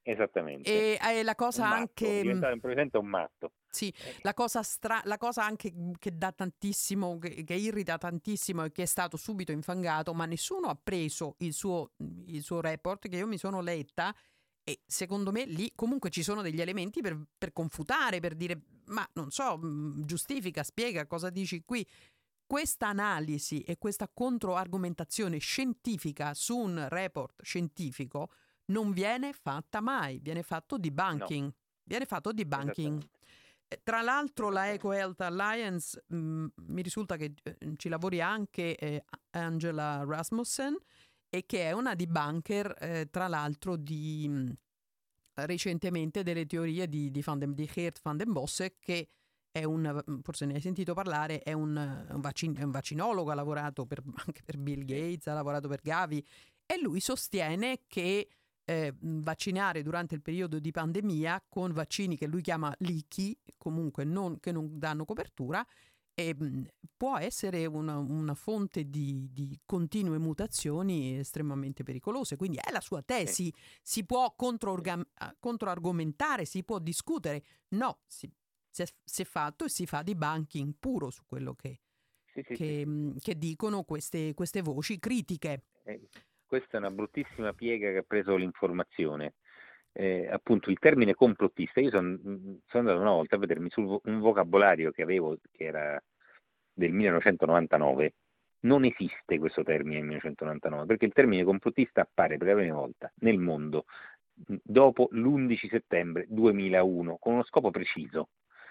Esattamente. E eh, la cosa Un matto, anche... diventare improvvisamente un matto. Sì, Eh, la cosa, stra- la cosa anche che dà tantissimo, che, che irrita tantissimo e che è stato subito infangato, ma nessuno ha preso il suo, il suo report che io mi sono letta e secondo me lì comunque ci sono degli elementi per, per confutare, per dire, ma non so, mh, giustifica, spiega cosa dici qui. Questa analisi e questa controargomentazione scientifica su un report scientifico non viene fatta mai, viene fatto no, debunking, viene fatto debunking. esattamente. Eh, Tra l'altro la Esattamente. EcoHealth Alliance mh, mi risulta che eh, ci lavori anche eh, Angela Rasmussen e che è una debunker eh, tra l'altro di mh, recentemente delle teorie di, di, Van den, di Geert van den Bossche, che è un, forse ne hai sentito parlare, è un, un, vaccin, è un vaccinologo, ha lavorato per, anche per Bill Gates, ha lavorato per Gavi e lui sostiene che eh, vaccinare durante il periodo di pandemia con vaccini che lui chiama leaky, comunque non, che non danno copertura, e, mh, può essere una, una fonte di, di continue mutazioni estremamente pericolose. Quindi è la sua Sì, tesi, si può sì, controargam- controargomentare, si può discutere. No, si, si, è, si è fatto e si fa debunking puro su quello che, sì, sì, sì, che, sì. mh, che dicono queste, queste voci critiche. Eh, questa è una bruttissima piega che ha preso l'informazione. Eh, appunto il termine complottista, io son- mh, sono andato una volta a vedermi su vo- un vocabolario che avevo, che era del millenovecentonovantanove, non esiste questo termine nel millenovecentonovantanove, perché il termine complottista appare per la prima volta nel mondo mh, dopo l'undici settembre duemilauno, con uno scopo preciso.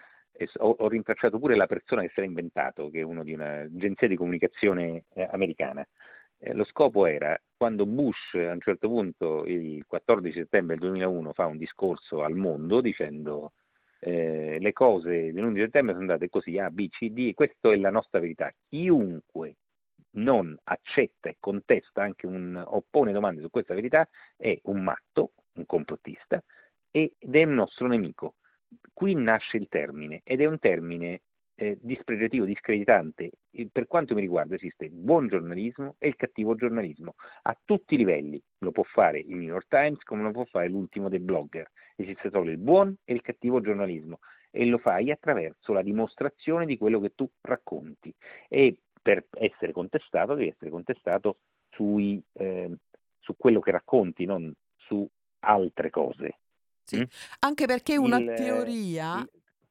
E s- ho, ho rintracciato pure la persona che se l'ha inventato, che è uno di un'agenzia di comunicazione eh, americana. Eh, lo scopo era, quando Bush a un certo punto, il quattordici settembre del duemilauno, fa un discorso al mondo dicendo eh, le cose dell'undici settembre sono andate così, A, B, C, D, e questa è la nostra verità. Chiunque non accetta e contesta, anche un, oppone domande su questa verità, è un matto, un complottista, ed è un nostro nemico. Qui nasce il termine, ed è un termine eh, dispregiativo, discreditante. E per quanto mi riguarda esiste il buon giornalismo e il cattivo giornalismo, a tutti i livelli. Lo può fare il New York Times come lo può fare l'ultimo dei blogger. Esiste solo il buon e il cattivo giornalismo e lo fai attraverso la dimostrazione di quello che tu racconti. E per essere contestato devi essere contestato sui, eh, su quello che racconti, non su altre cose. Sì, Mm? anche perché una Il, teoria, il,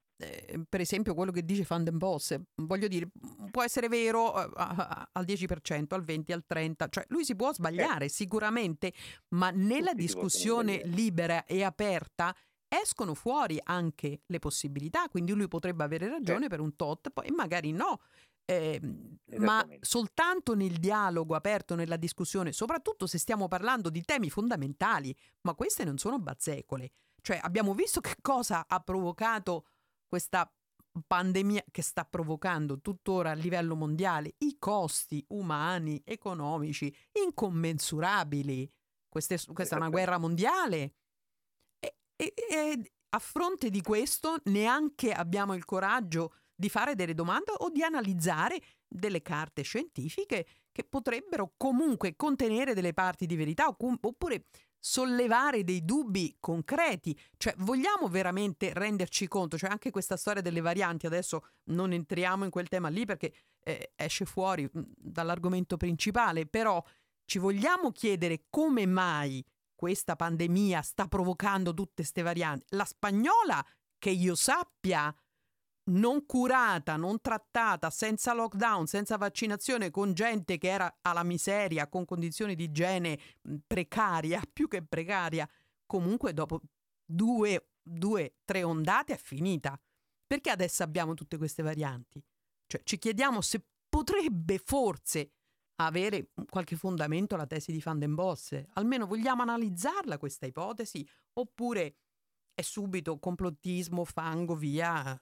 eh, per esempio quello che dice Van den Bossche, voglio dire, può essere vero eh, a- a- al dieci per cento, al venti, al trenta, cioè lui si può sbagliare certo, sicuramente, ma nella tutti si possono discussione sbagliare. libera e aperta escono fuori anche le possibilità, quindi lui potrebbe avere ragione Certo, per un tot, poi magari no. Eh, ma esattamente. soltanto nel dialogo aperto, nella discussione, soprattutto se stiamo parlando di temi fondamentali, ma queste non sono bazzecole. Cioè, abbiamo visto che cosa ha provocato questa pandemia che sta provocando tuttora a livello mondiale, i costi umani, economici, incommensurabili. Queste- questa è una guerra Esattamente. mondiale. E, e- e a fronte di questo neanche abbiamo il coraggio di fare delle domande o di analizzare delle carte scientifiche che potrebbero comunque contenere delle parti di verità o com- oppure sollevare dei dubbi concreti. Cioè, vogliamo veramente renderci conto? Cioè, anche questa storia delle varianti, adesso non entriamo in quel tema lì perché eh, esce fuori mh, dall'argomento principale, però ci vogliamo chiedere come mai questa pandemia sta provocando tutte queste varianti. La spagnola, che io sappia, non curata, non trattata, senza lockdown, senza vaccinazione, con gente che era alla miseria, con condizioni di igiene mh, precaria, più che precaria, comunque dopo due, due, tre ondate è finita. Perché adesso abbiamo tutte queste varianti? Cioè, ci chiediamo se potrebbe forse avere qualche fondamento la tesi di Van den Bossche. Almeno vogliamo analizzarla questa ipotesi oppure è subito complottismo, fango, via,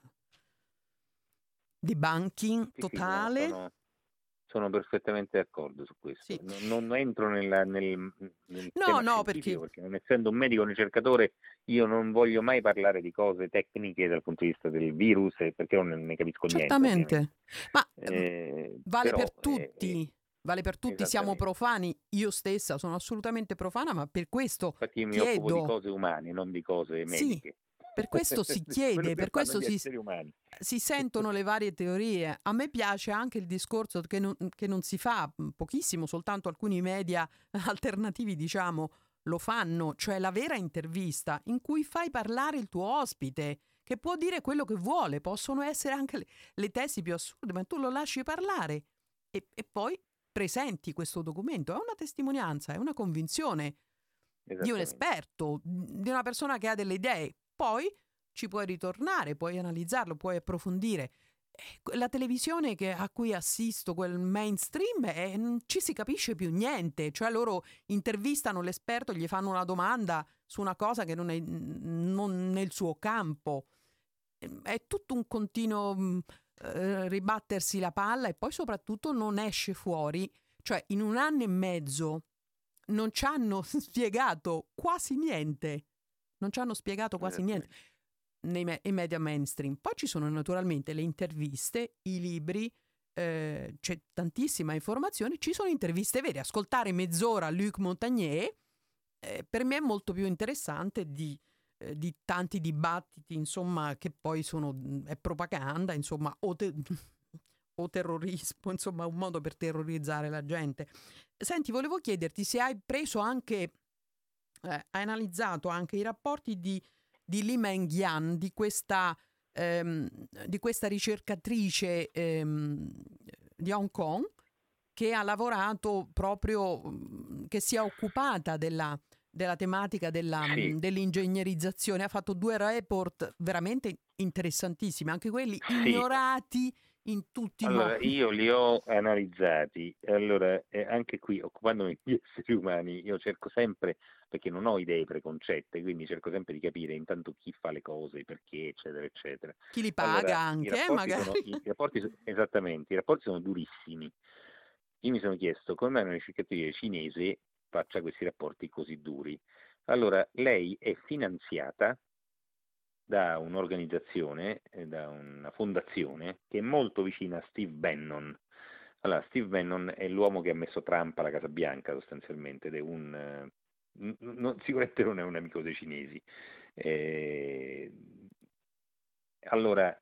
debunking Sì, sì, no, totale? sono, sono perfettamente d'accordo su questo. Sì. Non, non entro nella- nel, nel No, tema no, perché scientifico perché non essendo un medico, un ricercatore, io non voglio mai parlare di cose tecniche dal punto di vista del virus, eh, perché non ne capisco niente, ovviamente. certamente, ma ehm, Eh, vale però per eh, eh, tutti. vale per tutti, siamo profani, io stessa sono assolutamente profana, ma per questo Infatti io mi chiedo... occupo di cose umane, non di cose mediche. Sì, per questo si chiede, per questo si, umani. si sentono le varie teorie. A me piace anche il discorso che non, che non si fa pochissimo, soltanto alcuni media alternativi, diciamo, lo fanno, cioè la vera intervista in cui fai parlare il tuo ospite, che può dire quello che vuole, possono essere anche le, le tesi più assurde, ma tu lo lasci parlare e, e poi presenti questo documento. È una testimonianza, è una convinzione di un esperto, di una persona che ha delle idee. Poi ci puoi ritornare, puoi analizzarlo, puoi approfondire. La televisione che, a cui assisto, quel mainstream, è, non ci si capisce più niente. Cioè loro intervistano l'esperto, gli fanno una domanda su una cosa che non è non nel suo campo. È tutto un continuo eh, ribattersi la palla, e poi soprattutto non esce fuori. Cioè in un anno e mezzo non ci hanno spiegato quasi niente. Non ci hanno spiegato quasi niente nei me- media mainstream. Poi ci sono naturalmente le interviste, i libri, eh, c'è tantissima informazione, ci sono interviste vere. Ascoltare mezz'ora Luc Montagnier eh, per me è molto più interessante di, eh, di tanti dibattiti, insomma, che poi sono è propaganda, insomma, o, te- o terrorismo, insomma, un modo per terrorizzare la gente. Senti, volevo chiederti se hai preso anche Eh, hai analizzato anche i rapporti di, di Li Mengyan, di questa, ehm, di questa ricercatrice ehm, di Hong Kong, che ha lavorato proprio, che si è occupata della, della tematica della, sì. dell'ingegnerizzazione. Ha fatto due report veramente interessantissimi, anche quelli sì. ignorati in tutti allora, i modi. Io li ho analizzati, allora eh, anche qui occupandomi di esseri umani io cerco sempre, perché non ho idee preconcette, quindi cerco sempre di capire intanto chi fa le cose, perché, eccetera, eccetera. Chi li paga allora, anche, i rapporti magari. Sono, i, i rapporti, esattamente, i rapporti sono durissimi. Io mi sono chiesto come mai una ricercatrice cinese faccia questi rapporti così duri. Allora, lei è finanziata da un'organizzazione, eh, da una fondazione che è molto vicina a Steve Bannon. Allora, Steve Bannon è l'uomo che ha messo Trump alla Casa Bianca sostanzialmente, ed è un, eh, non, sicuramente non è un amico dei cinesi. Eh, allora,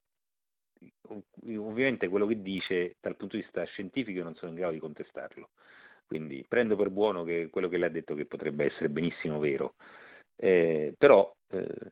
ovviamente quello che dice dal punto di vista scientifico io non sono in grado di contestarlo, quindi prendo per buono che quello che lei ha detto che potrebbe essere benissimo vero, eh, però eh,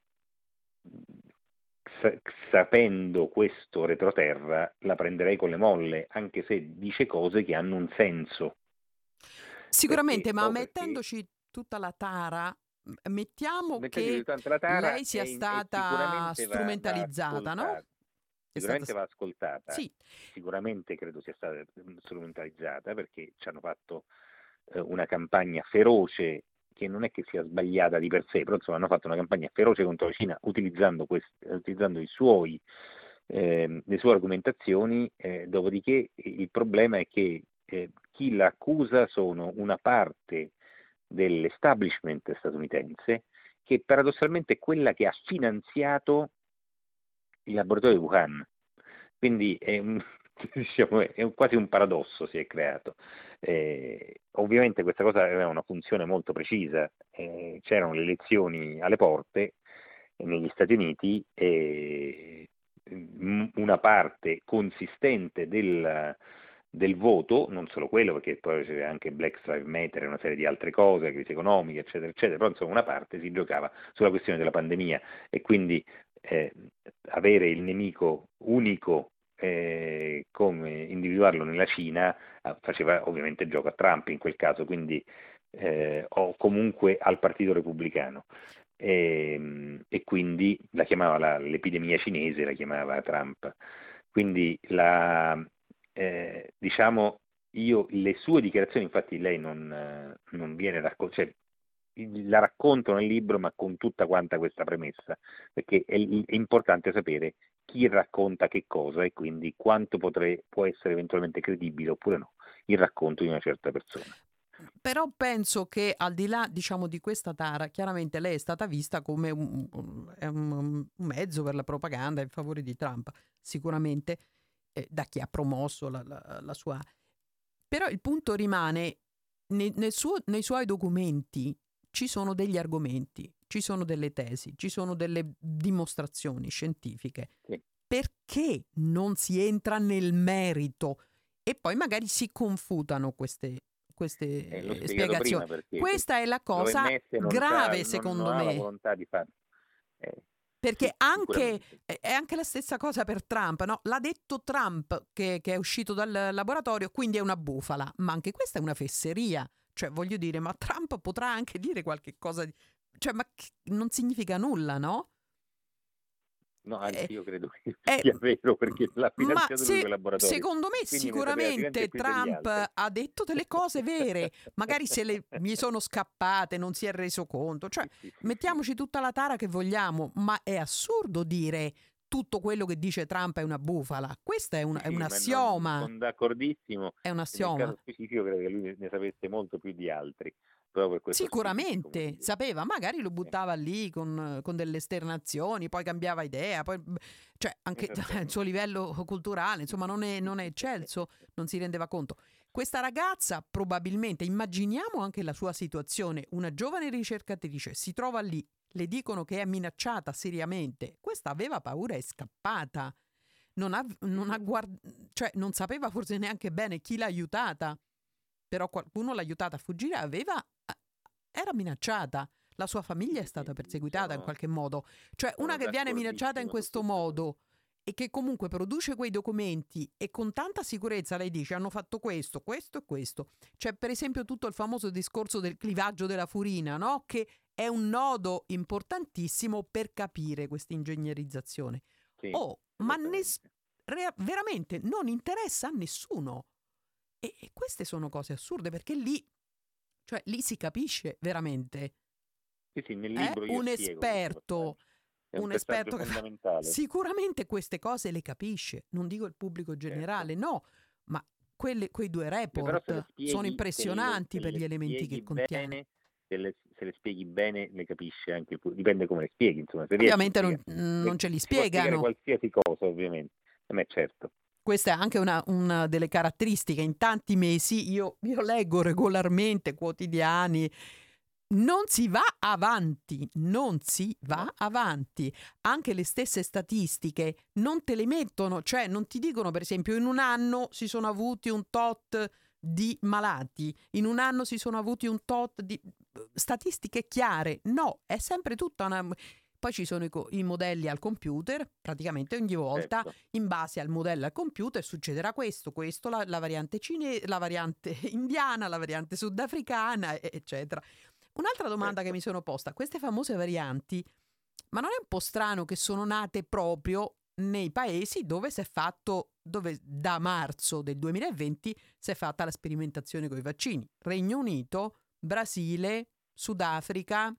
sapendo questo retroterra la prenderei con le molle, anche se dice cose che hanno un senso. Sicuramente, perché, ma oh, mettendoci perché... tutta la tara, mettiamo che la tara lei sia in, stata strumentalizzata, va, va no? Sicuramente stata... va ascoltata, sì. Sicuramente credo sia stata strumentalizzata, perché ci hanno fatto eh, una campagna feroce, che non è che sia sbagliata di per sé, però insomma hanno fatto una campagna feroce contro la Cina utilizzando, quest- utilizzando i suoi, eh, le sue argomentazioni, eh, dopodiché il problema è che eh, chi l'accusa sono una parte dell'establishment statunitense, che paradossalmente è quella che ha finanziato il laboratorio di Wuhan. Quindi è, un, diciamo, è un, quasi un paradosso si è creato. Eh, ovviamente questa cosa aveva una funzione molto precisa, eh, c'erano le elezioni alle porte negli Stati Uniti e una parte consistente del, del voto, non solo quello, perché poi c'è anche Black Lives Matter e una serie di altre cose, crisi economica, eccetera, eccetera, però insomma una parte si giocava sulla questione della pandemia, e quindi eh, avere il nemico unico eh, come individuarlo nella Cina eh, faceva ovviamente gioco a Trump in quel caso, quindi eh, o comunque al Partito Repubblicano. E, e quindi la chiamava la, l'epidemia cinese, la chiamava Trump. Quindi la, eh, diciamo, io le sue dichiarazioni, infatti lei non, non viene raccontata, cioè, la racconto nel libro, ma con tutta quanta questa premessa, perché è, è importante sapere chi racconta che cosa e quindi quanto potre, può essere eventualmente credibile oppure no il racconto di una certa persona. Però penso che al di là, diciamo, di questa tara, chiaramente lei è stata vista come un, un, un mezzo per la propaganda in favore di Trump, sicuramente eh, da chi ha promosso la, la, la sua... Però il punto rimane, nei, nel suo, nei suoi documenti ci sono degli argomenti, ci sono delle tesi, ci sono delle dimostrazioni scientifiche. Sì. Perché non si entra nel merito e poi magari si confutano queste, queste Eh, l'ho spiegato spiegazioni? prima perché Questa è la cosa l'O M S non grave, c'ha- secondo non, non ha la me. volontà di fare. Eh, Perché sì, anche, sicuramente. è anche la stessa cosa per Trump, no? L'ha detto Trump che, che è uscito dal laboratorio, quindi è una bufala. Ma anche questa è una fesseria. Cioè, voglio dire, ma Trump potrà anche dire qualche cosa di... Cioè, ma che- non significa nulla, no? No, Eh, anzi io credo che eh, sia vero perché l'ha ma finanziato lui se, quel laboratorio. secondo me Quindi ne sapeva sicuramente sicuramente più degli Trump altri. ha detto delle cose vere, magari se le, gli sono scappate, non si è reso conto, cioè Sì, sì, sì, mettiamoci tutta la tara che vogliamo, ma è assurdo dire tutto quello che dice Trump è una bufala, questa è un, sì, è sì, un ma non, assioma, sono d'accordissimo. è un E nel assioma. caso specifico credo che lui ne sapesse molto più di altri, proprio per questo specifico Sicuramente motivo. sapeva, magari lo Sì, buttava lì con, con delle esternazioni, poi cambiava idea, poi, cioè anche il esattamente. suo livello culturale, insomma, non è, non è eccelso, non si rendeva conto. Questa ragazza probabilmente, immaginiamo anche la sua situazione, una giovane ricercatrice si trova lì, le dicono che è minacciata seriamente, questa aveva paura e è scappata, non ha, non ha guard- cioè non sapeva forse neanche bene chi l'ha aiutata, però qualcuno l'ha aiutata a fuggire, aveva, era minacciata, la sua famiglia è Sì, stata sì, perseguitata in sono, qualche modo, cioè una sono che viene minacciata in d'accordissimo su questo questa cosa. modo e che comunque produce quei documenti e con tanta sicurezza lei dice hanno fatto questo, questo e questo. C'è per esempio tutto il famoso discorso del clivaggio della furina, no? Che è un nodo importantissimo per capire questa ingegnerizzazione. Sì, Oh, ma nes- esattamente. re- veramente non interessa a nessuno. E, e queste sono cose assurde perché lì, cioè, lì si capisce veramente. Sì, sì, nel È libro io un spiego questo esperto, passaggio. È un un passaggio esperto che fa... fondamentale. Sicuramente queste cose le capisce, non dico il pubblico Certo. generale, no, ma quelle- quei due Beh, però se le report sono spieghi, se le, impressionanti se per gli le elementi che spieghi contiene. bene, se le, se le spieghi bene, le capisce anche il pubblico. Dipende come le spieghi, insomma, se riesci a Ovviamente non, spiegare. non ce li Si può spiegare spiegano. qualsiasi cosa, ovviamente. A me certo. Questa è anche una, una delle caratteristiche. In tanti mesi io, io leggo regolarmente quotidiani. Non si va avanti, non si va No, avanti. Anche le stesse statistiche non te le mettono, cioè non ti dicono per esempio in un anno si sono avuti un tot di malati, in un anno si sono avuti un tot di statistiche chiare. No, è sempre tutta una... Poi ci sono i, co- i modelli al computer, praticamente ogni volta certo. in base al modello al computer succederà questo, questo, la, la variante cinese, la variante indiana, la variante sudafricana, e- eccetera. Un'altra domanda che Certo. mi sono posta, queste famose varianti, ma non è un po' strano che sono nate proprio nei paesi dove si è fatto, dove da marzo del duemilaventi si è fatta la sperimentazione con i vaccini? Regno Unito, Brasile, Sudafrica,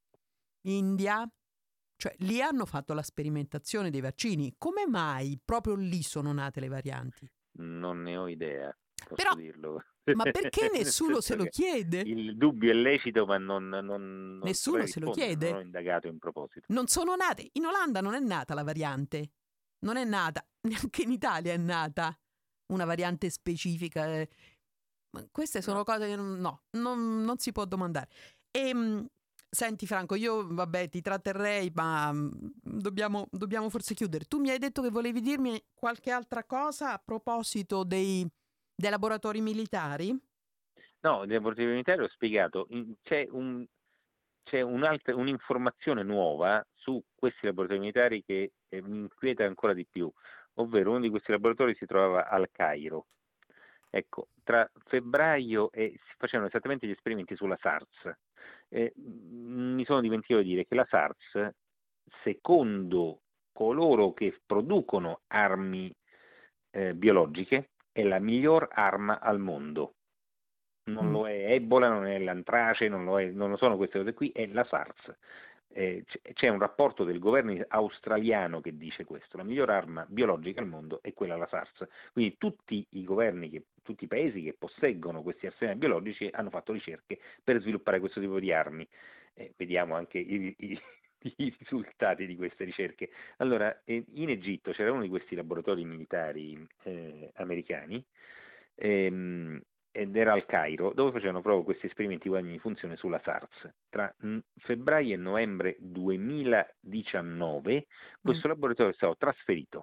India, cioè lì hanno fatto la sperimentazione dei vaccini. Come mai proprio lì sono nate le varianti? Non ne ho idea, Però, posso dirlo. ma perché Nel nessuno se senso lo che chiede? il dubbio è lecito, ma non, non, non saprei Nessuno se lo rispondere, non ho chiede? indagato in proposito. Non sono nate. In Olanda non è nata la variante. Non è nata. Neanche in Italia è nata una variante specifica. eh. Ma queste sono No. cose che non, no, non, non si può domandare. E, mh, senti Franco, io vabbè ti tratterrei, ma mh, dobbiamo, dobbiamo forse chiudere. Tu mi hai detto che volevi dirmi qualche altra cosa a proposito dei, dei laboratori militari? No, nel laboratorio militare ho spiegato, in- c'è, un, c'è un'altra, un'informazione nuova su questi laboratori militari che eh, mi inquieta ancora di più, ovvero uno di questi laboratori si trovava al Cairo. Ecco, tra febbraio e si facevano esattamente gli esperimenti sulla SARS. Eh, mi sono dimenticato di dire che la SARS, secondo coloro che producono armi eh, biologiche, è la miglior arma al mondo. Non Mm. lo è Ebola, non è l'antrace, non lo, è, non lo sono queste cose qui, è la SARS. Eh, c'è un rapporto del governo australiano che dice questo: la miglior arma biologica al mondo è quella la SARS. Quindi tutti i governi, che, tutti i paesi che posseggono questi arsenali biologici hanno fatto ricerche per sviluppare questo tipo di armi. Eh, vediamo anche i, i, i risultati di queste ricerche. Allora, eh, in Egitto c'era uno di questi laboratori militari eh, americani, ehm, ed era al Cairo, dove facevano proprio questi esperimenti di guadagni di funzione sulla SARS. Tra febbraio e novembre duemiladiciannove questo mm. laboratorio è stato trasferito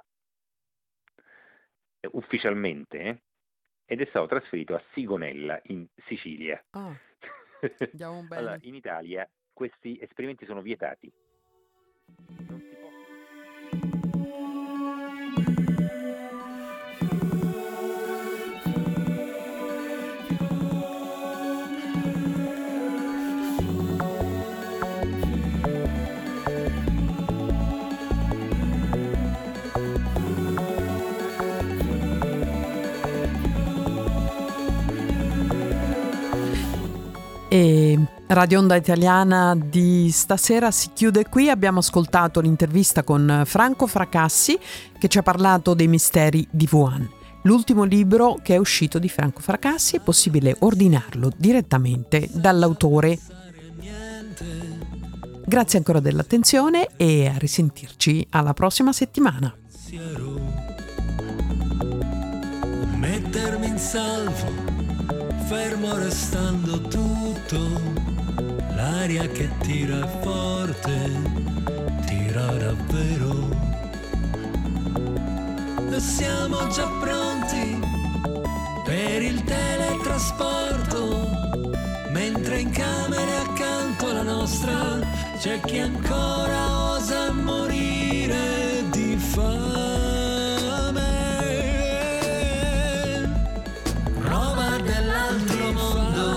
eh, ufficialmente eh, ed è stato trasferito a Sigonella in Sicilia. Oh, andiamo bene. Allora, in Italia questi esperimenti sono vietati. Non si può. E Radio Onda Italiana di stasera si chiude qui. Abbiamo ascoltato l'intervista con Franco Fracassi, che ci ha parlato dei misteri di Wuhan. L'ultimo libro che è uscito di Franco Fracassi, è possibile ordinarlo direttamente dall'autore. Grazie ancora dell'attenzione e a risentirci alla prossima settimana. Mettermi in salvo, fermo restando tutto, l'aria che tira è forte, tira davvero. E siamo già pronti per il teletrasporto, mentre in camere accanto alla nostra c'è chi ancora osa morire di fame. Roba dell'altro mondo,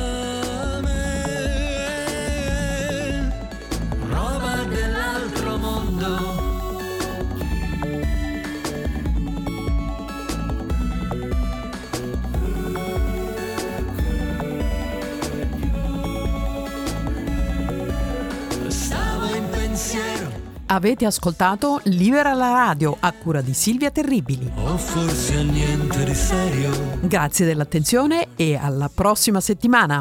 roba dell'altro mondo. Avete ascoltato Libera la radio a cura di Silvia Terribili. O forse niente di serio. Grazie dell'attenzione e alla prossima settimana.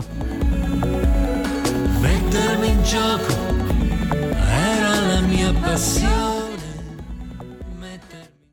Mettermi in gioco era la mia passione.